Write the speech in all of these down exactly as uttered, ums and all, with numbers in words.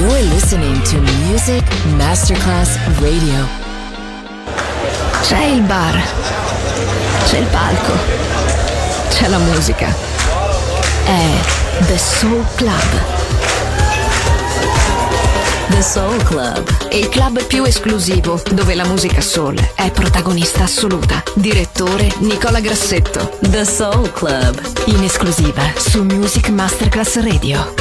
You're listening to Music Masterclass Radio. C'è il bar, c'è il palco, c'è la musica. È The Soul Club. The Soul Club, il club più esclusivo dove la musica soul è protagonista assoluta. Direttore Nicola Grassetto. The Soul Club, in esclusiva su Music Masterclass Radio.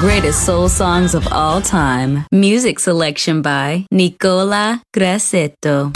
greatest soul songs of all time. Music selection by Nicola Grassetto.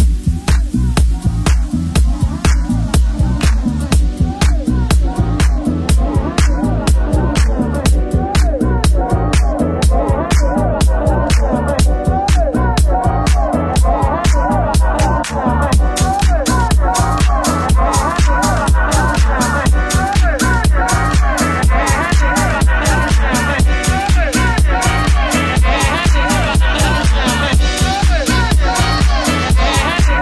We'll be right back.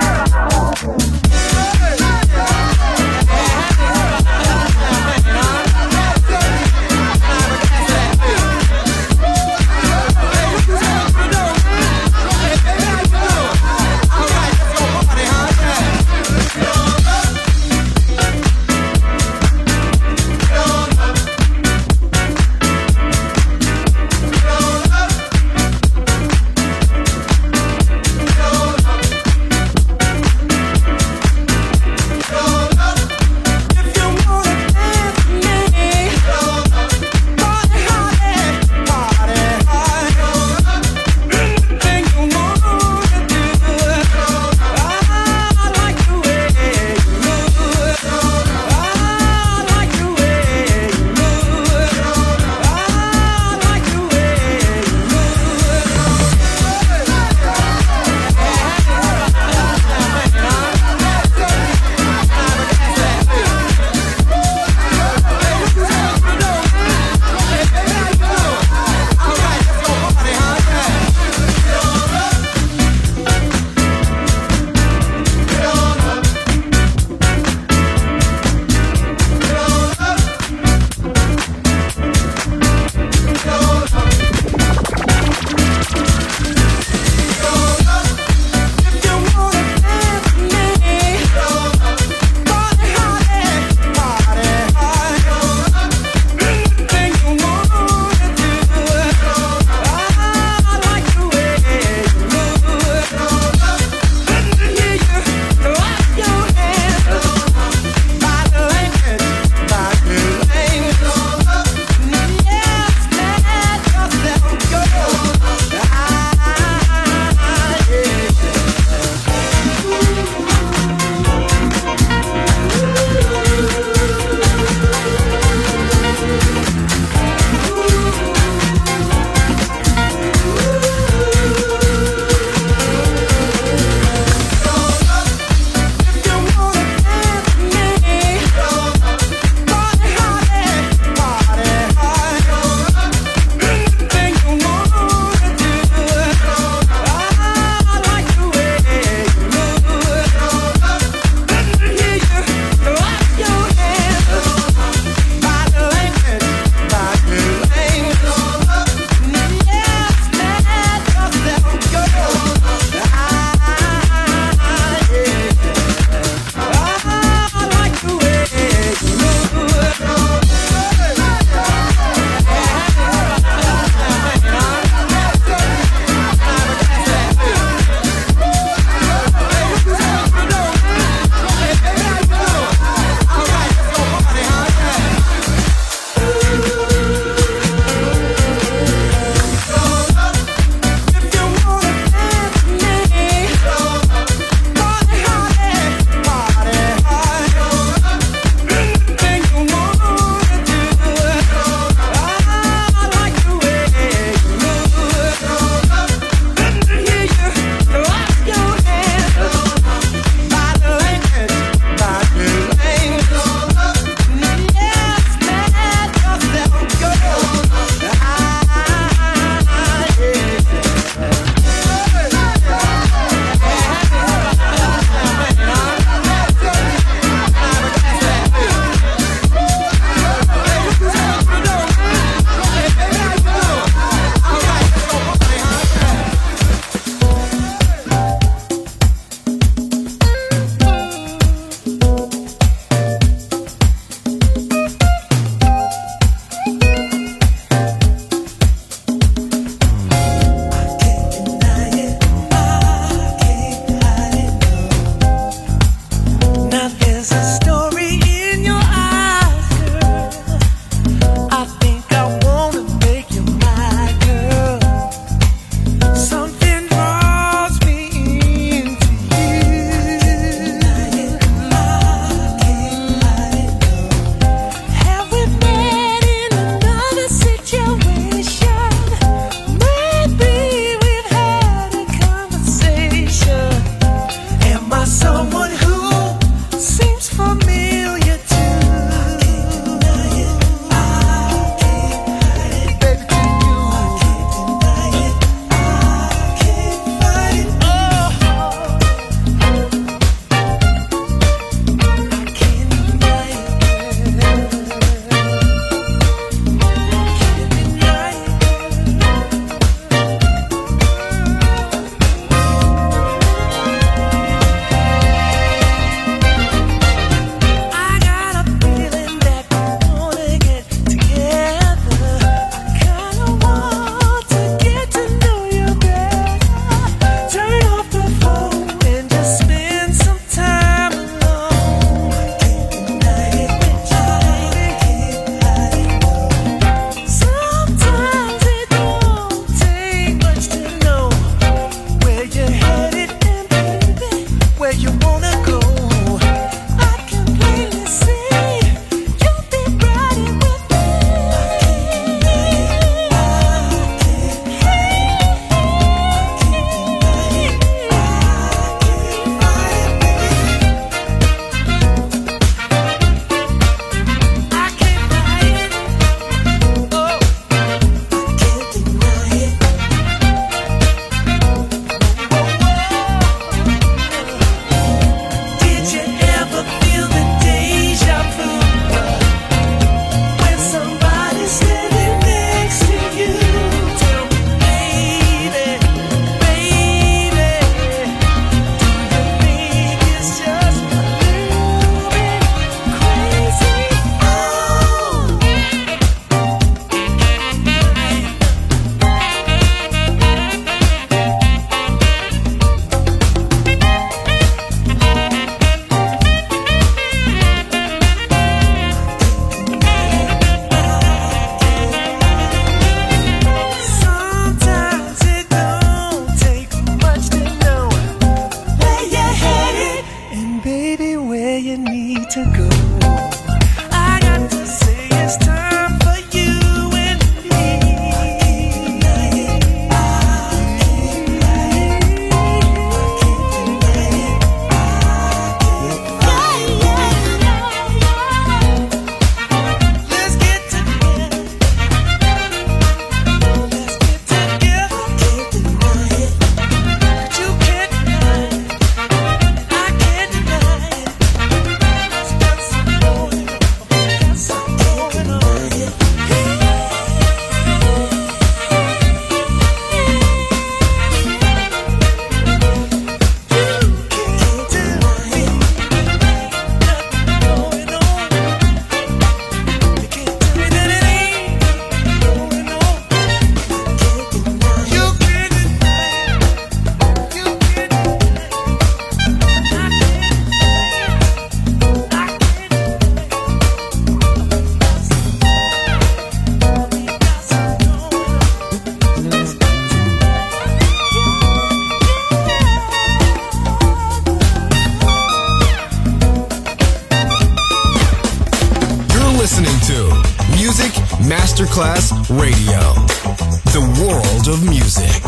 Masterclass Radio, the world of music.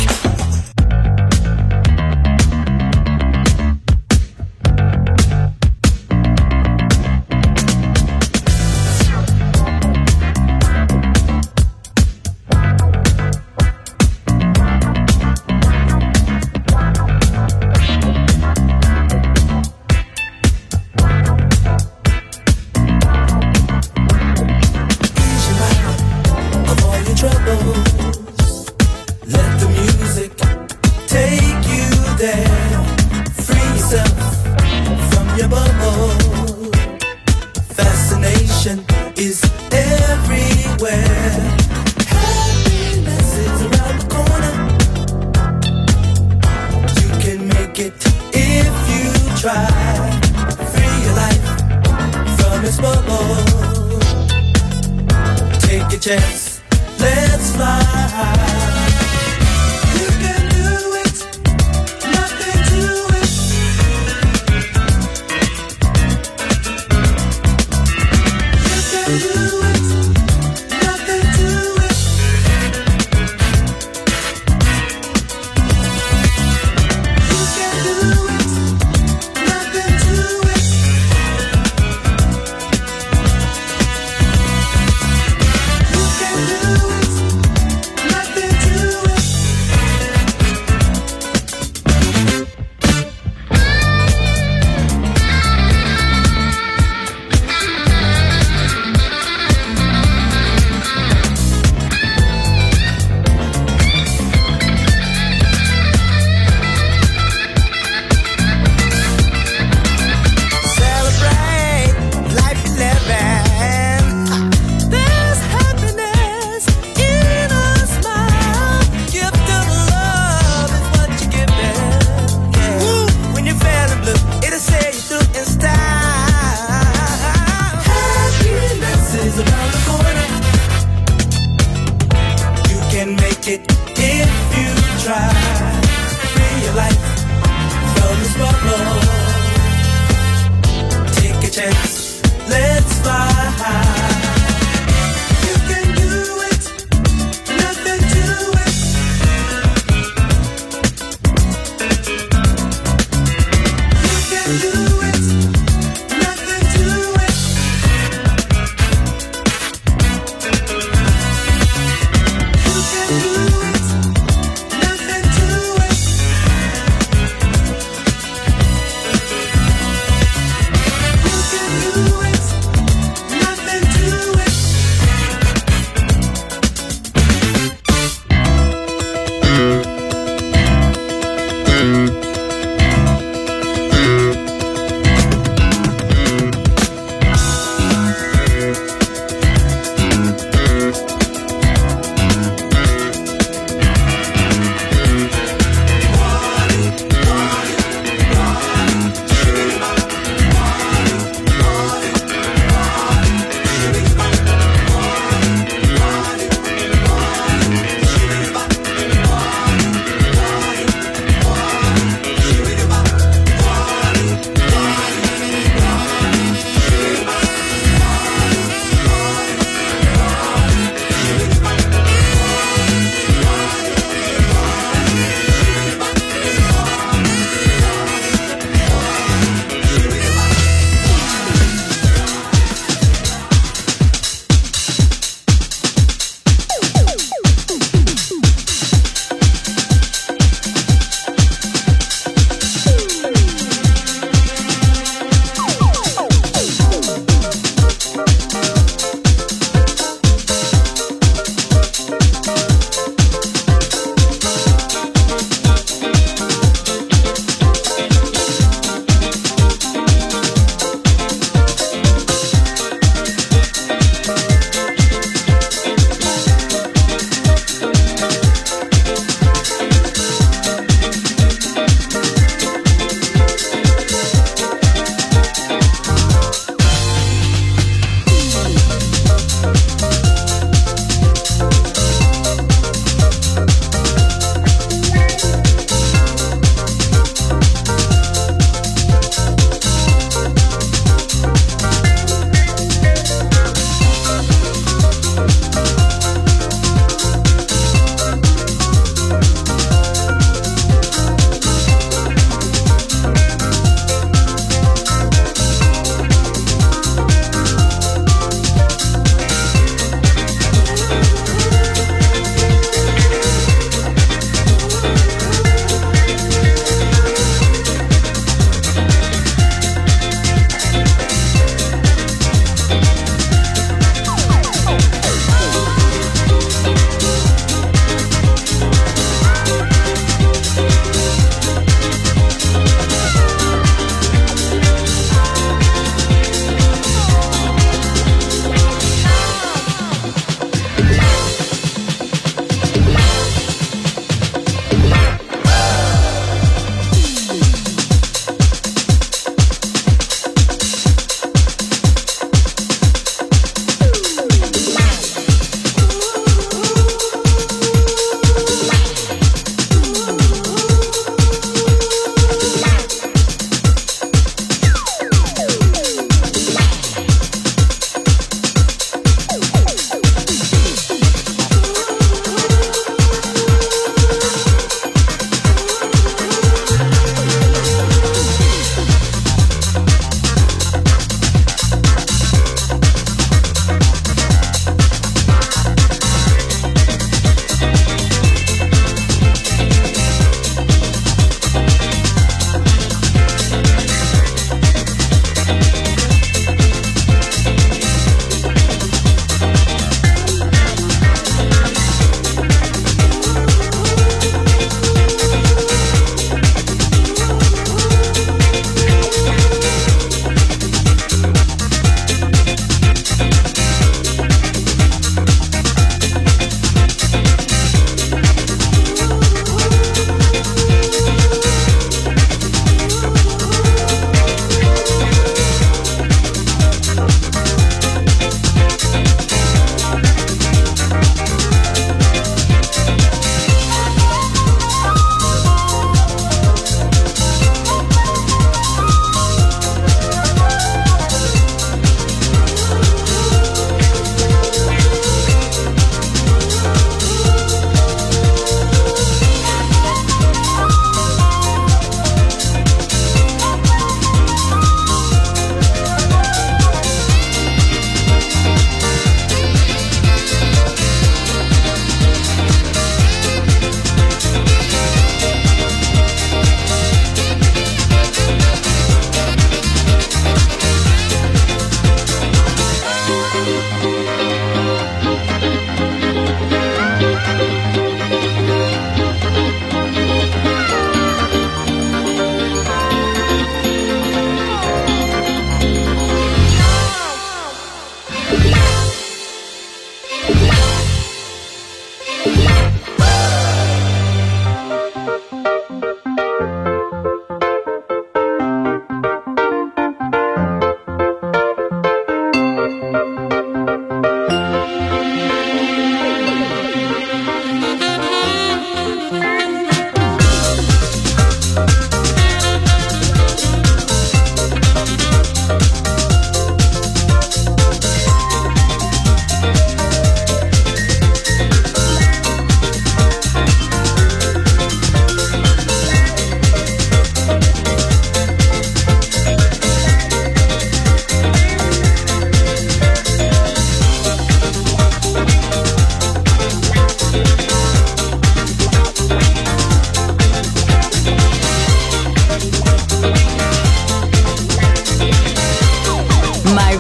You can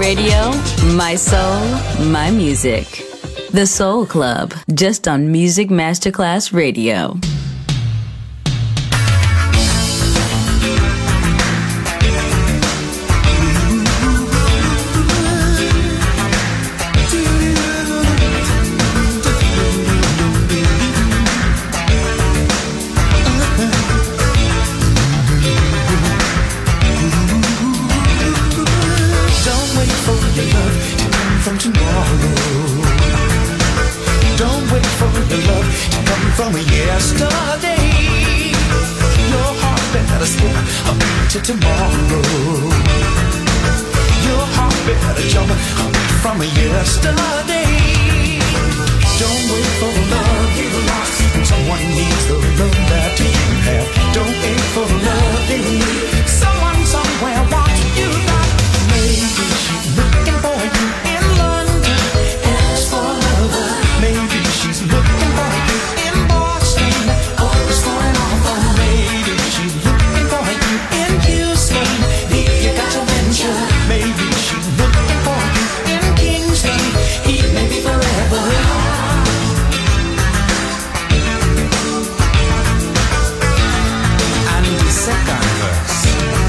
radio, my soul, my music. The Soul Club, just on Music Masterclass Radio. From yesterday, your heart better skip a beat to tomorrow. Your heart better jump from yesterday. Don't wait for the love you lost. Someone needs the love that you have. Don't wait for the love you need. Someone somewhere wants you back. Maybe she's looking for you in London. Ask for a lover. Maybe she's looking for you. Maybe she's looking for you in Kingston. He may be forever. And the second verse.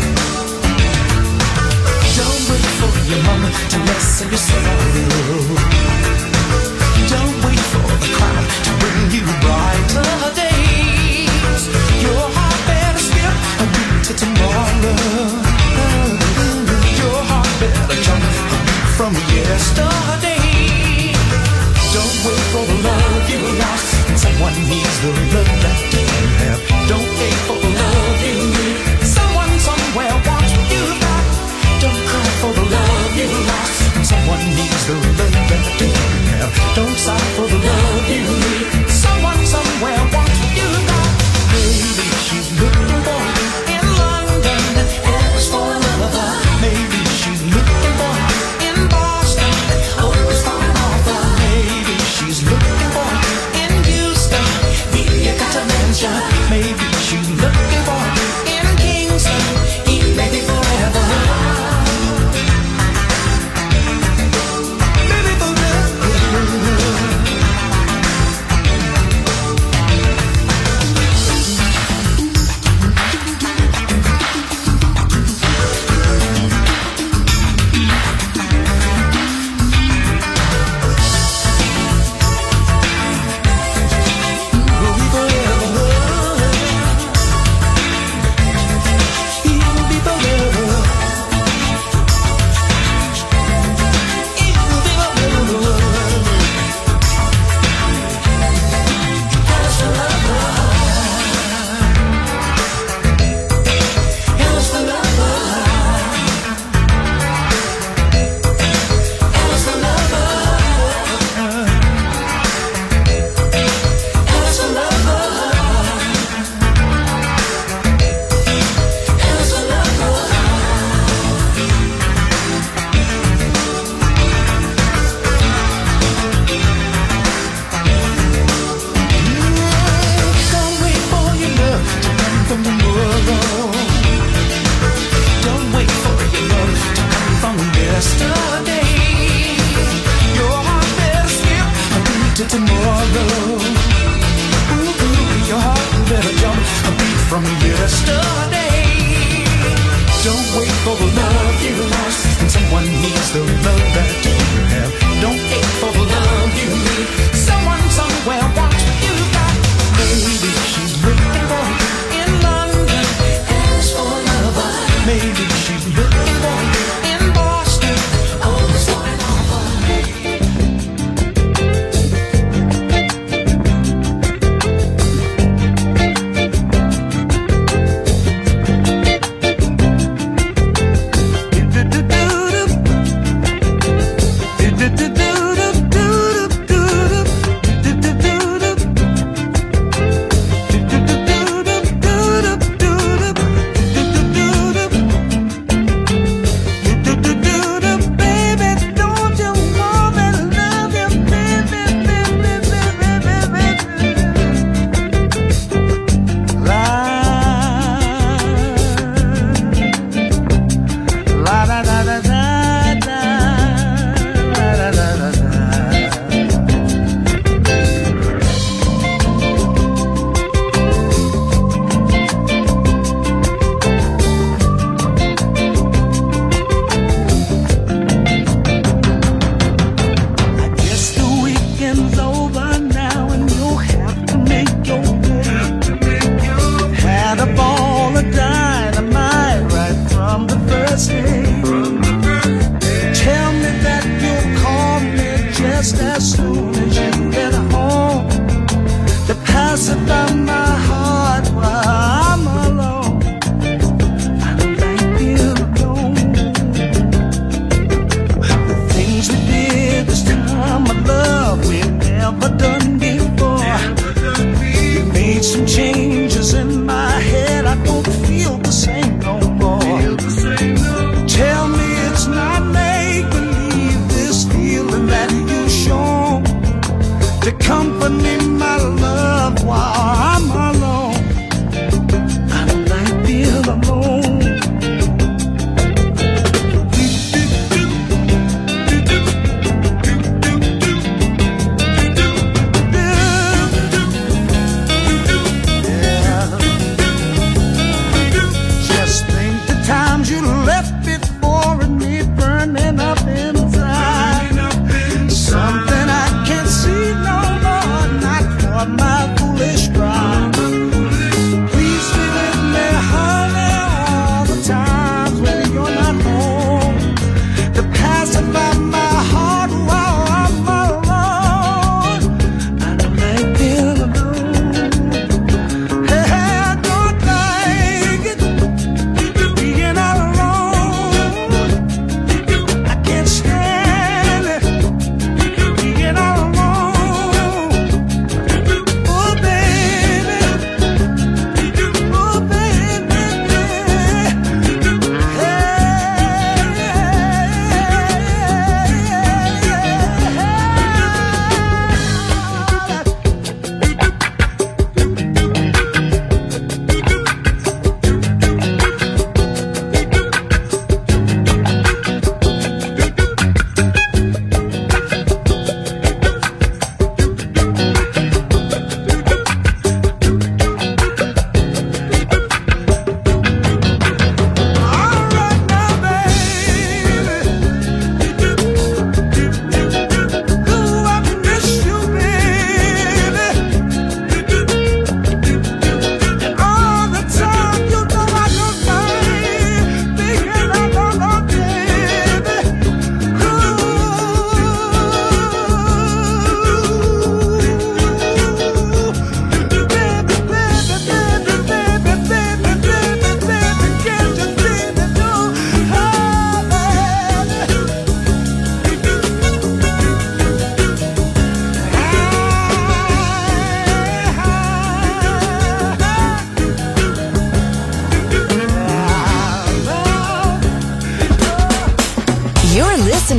Don't wait for your mama to lessen your sorrow. Don't wait for the crowd to bring you brighter days. Your heart better skip a beat to tomorrow. Better jump from yesterday. Don't wait for the love you lost. Someone needs the love that you have. Don't wait for the love you need. Someone somewhere wants you back. Don't cry for the love you lost. Someone needs the love that you have. Don't sigh for the love you need. Someone somewhere wants you back. Maybe she's looking for you in London. Ask for a lover. Maybe she's looking for you in Boston. Always for an offer. Maybe she's looking for you in Houston. You got to mention. Maybe she's looking for you in Kingston. He may be forever. Maybe forever.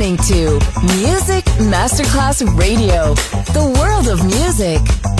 listening to Music Masterclass Radio, the world of music.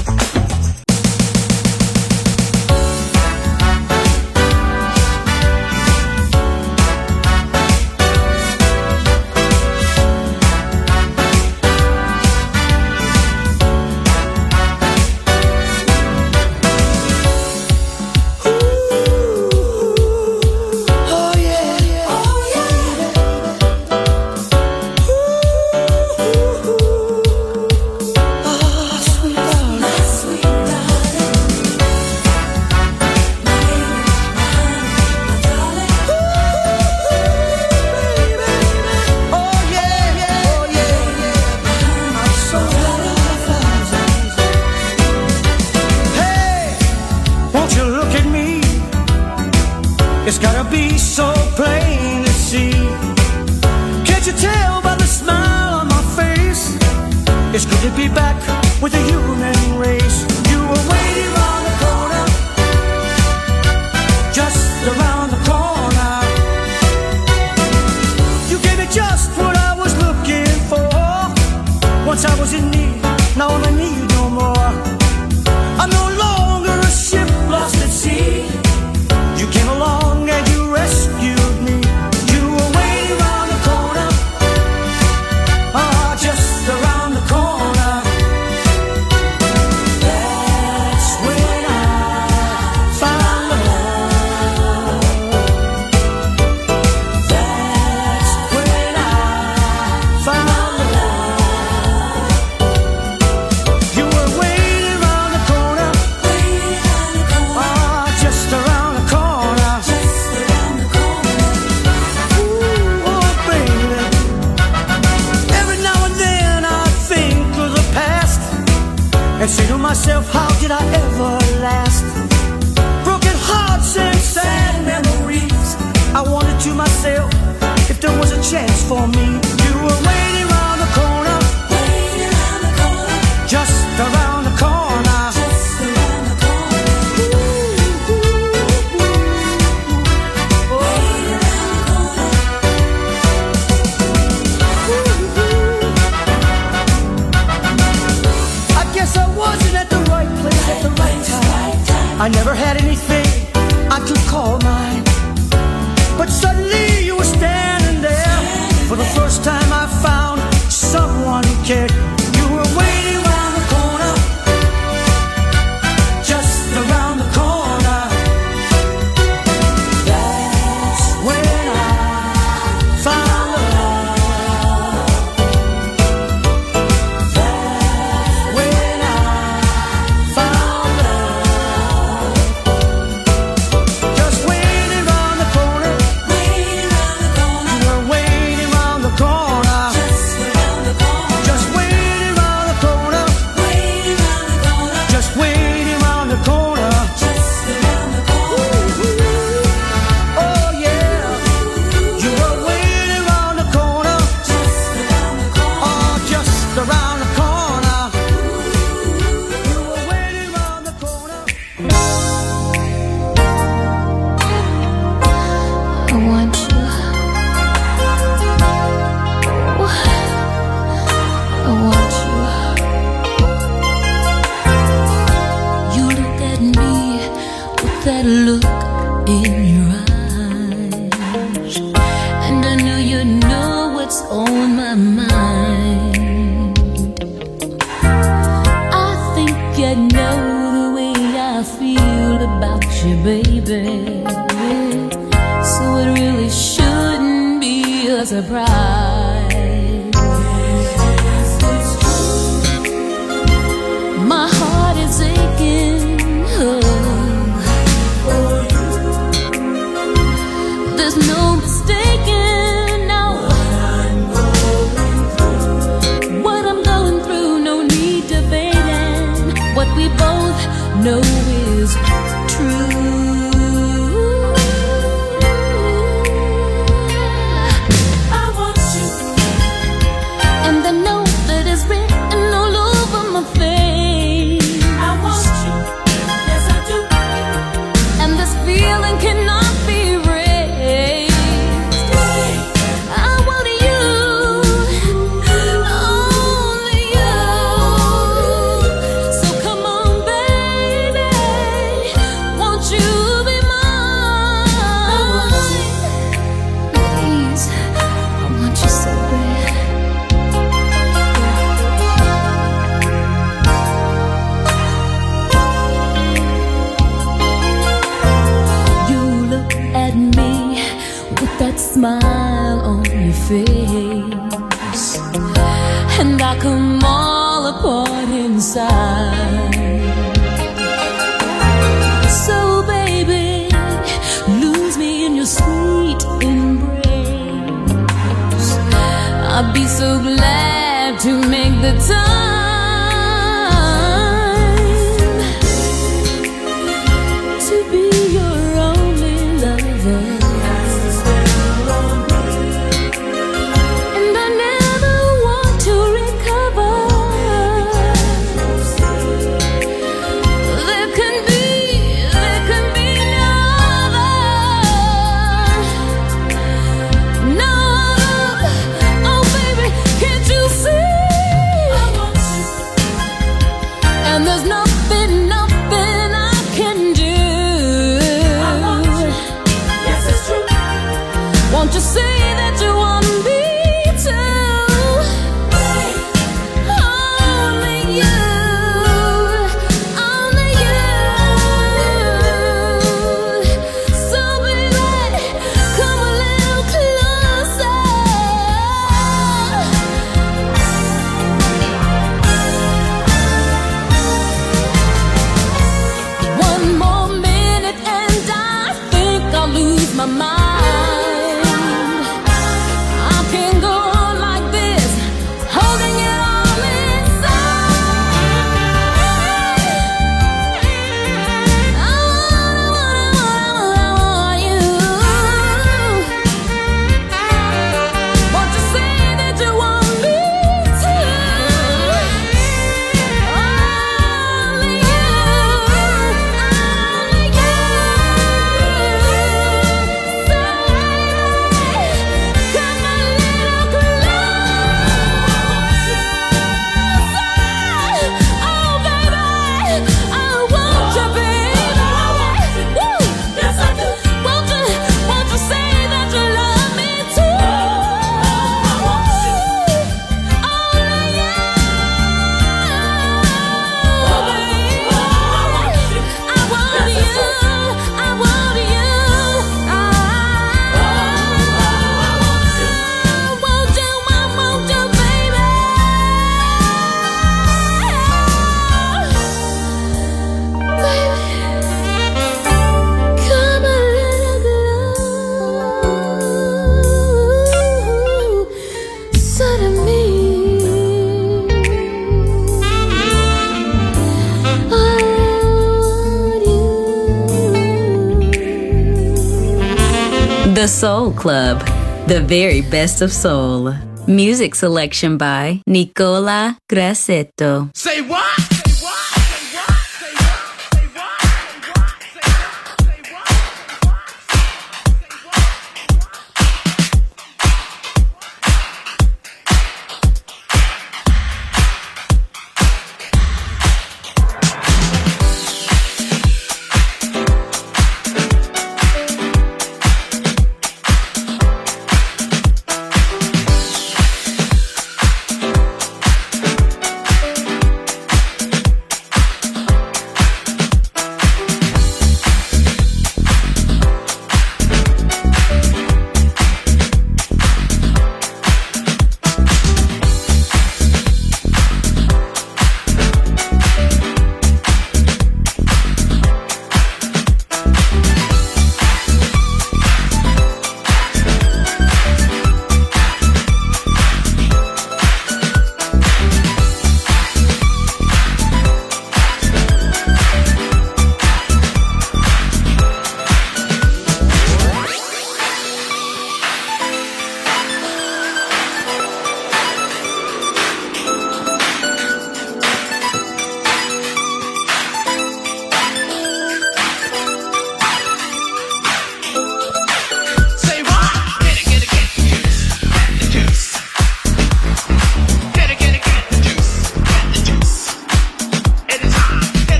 It's gotta be so plain to see. Can't you tell by the smile on my face? It's good to be back with the human race. You were waiting around the corner, just around the corner. You gave me just what I was looking for. Once I was in need, now I'm in need no more. I'm no longer a ship lost at sea. You came along and you rescued me. You were waiting around the corner, ah, just around the corner. That's when I found love. That's when I found love. You were waiting around the corner, ah, just around the corner. And say to myself, how did I ever last? Broken hearts and sad memories. I wondered to myself if there was a chance for me. You were waiting around the corner, waiting around the corner, just around the corner, just around the corner. Ooh, ooh, ooh. Oh. Waiting around the corner. I guess I wasn't at the right place at the right time. I never had anything I could call mine. But suddenly you were standing there. For the first time I found someone who cared. You were waiting around the corner, just around the corner. That's when I found love. That's when I found love. Just waiting around the corner, waiting around the corner. You were waiting around the corner, just around the corner. Just waiting around the corner, waiting around the corner. Just waiting around the corner, just around the corner. Oh yeah, you were waiting around the corner, just around the corner. Oh, just around the corner. You were waiting around the corner. I want you. I want you. You look at me with that look in your eyes, and I knew you know what's on my mind. I think you know the way I feel about you, baby. So it really shouldn't be a surprise. My heart is aching, oh. There's no mistaking now what I'm going through. No need debating. What we both know is true. I want you, and I know that it's written all over my face. I want you, yes I do, and this feeling cannot be erased. I want you, smile on your face, and I come all apart inside. So baby, lose me in your sweet embrace. I'd be so glad to make the time to be your only lover. The Soul Club, the very best of soul. Music selection by Nicola Grassetto. Say what?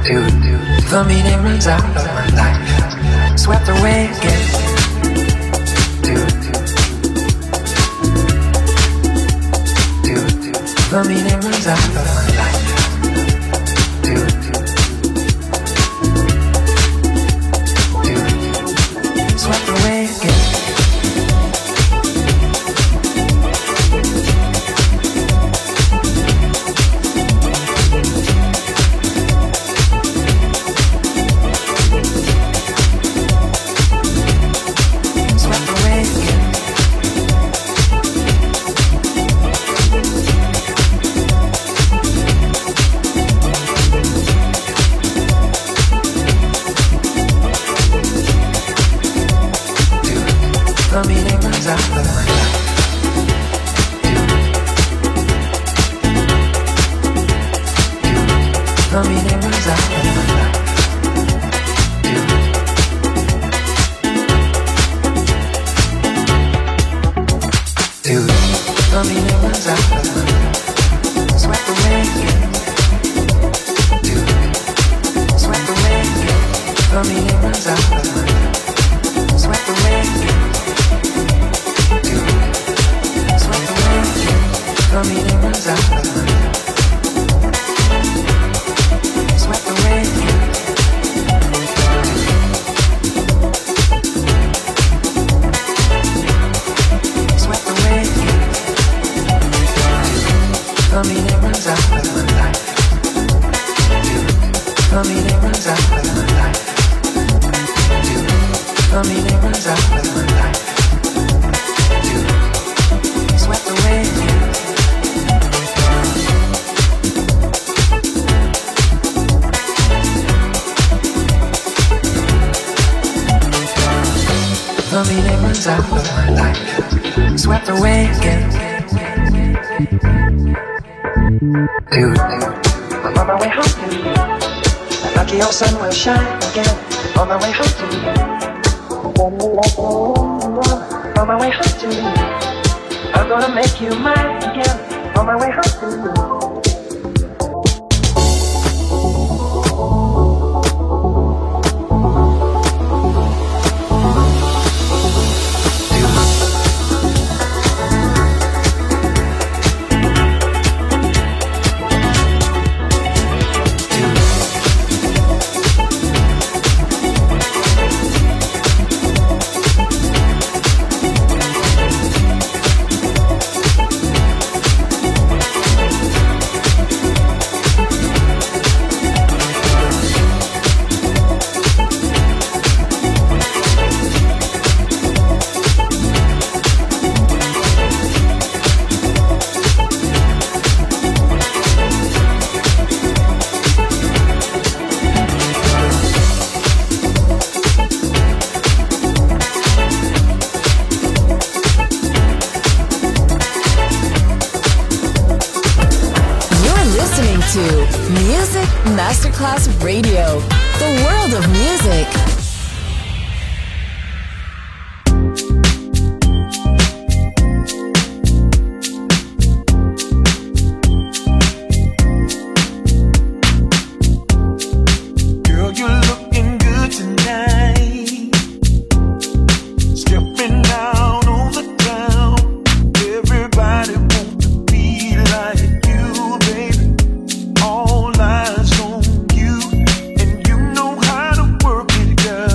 The meaning runs out of my life, swept away again. The meaning runs out of my life. Swept away again. Masterclass Radio, the world of music. All eyes on you, and you know how to work it, girl.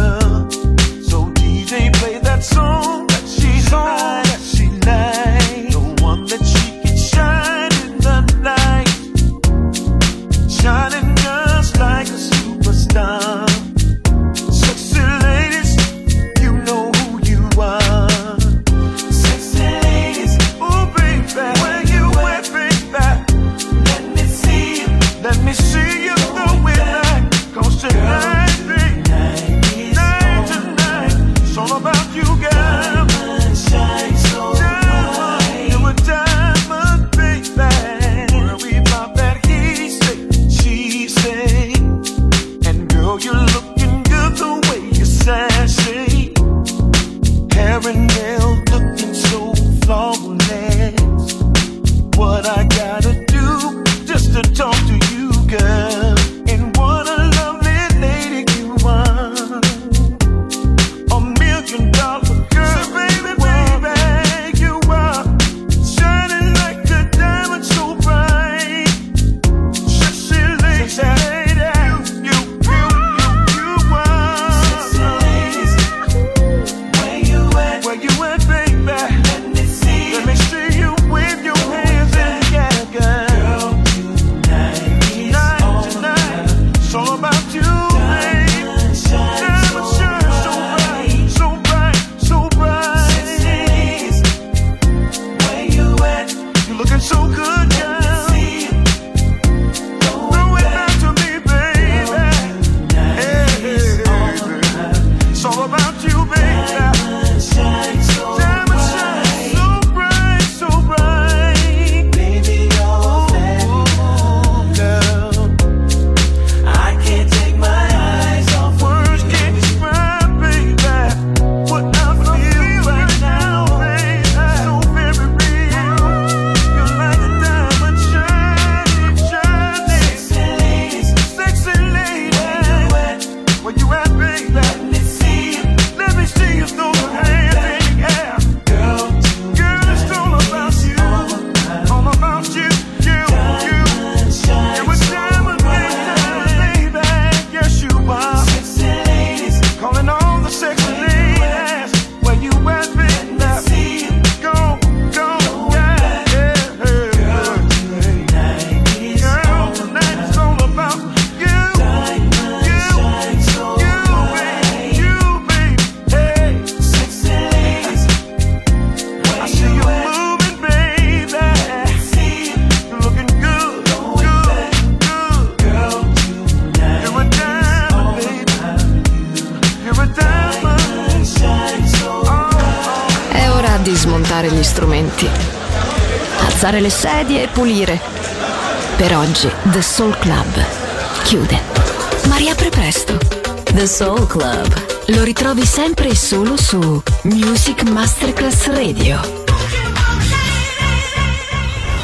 di smontare gli strumenti, alzare le sedie e pulire. Per oggi The Soul Club chiude, ma riapre presto. The Soul Club. Lo ritrovi sempre e solo su Music Masterclass Radio.